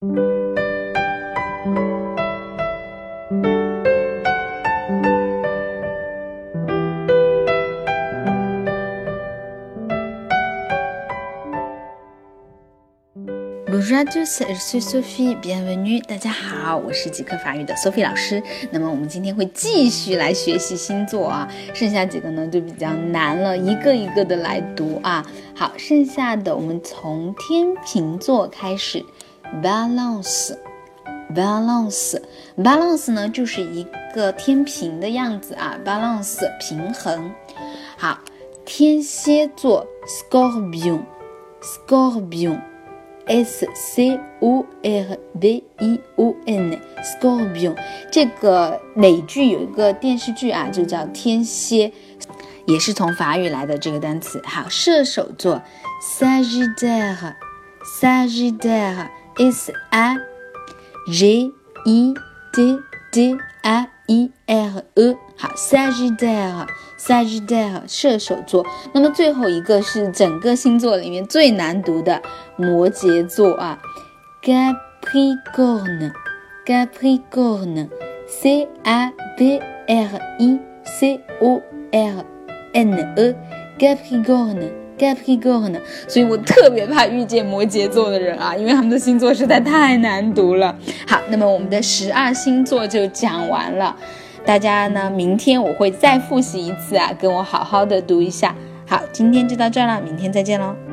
Bonjour à tous, je suis Sophie, bienvenue. 大家好，我是极客法语的 Sophie 老师。那么我们今天会继续来学习星座啊，剩下几个呢就比较难了，一个一个的来读啊。好，剩下的我们从天秤座开始 ，balance 呢就是一个天平的样子啊 ，balance 平衡。好，天蝎座 scorpion S-C-O-R-B-I-O-N Scorpion， 这个美剧有一个电视剧啊，就叫天蝎，也是从法语来的这个单词。好，射手座 Sagittaire S-A-G-I-T-T-A-I-R-E， 好 Sagittaire 射手座。那么最后一个是整个星座里面最难读的摩羯座啊 Capricorn C-A-P-R-I-C-O-R-N-E Capricorn， 所以我特别怕遇见摩羯座的人啊，因为他们的星座实在太难读了。好，那么我们的12星座就讲完了，大家呢明天我会再复习一次啊，跟我好好的读一下。好，今天就到这儿了，明天再见咯。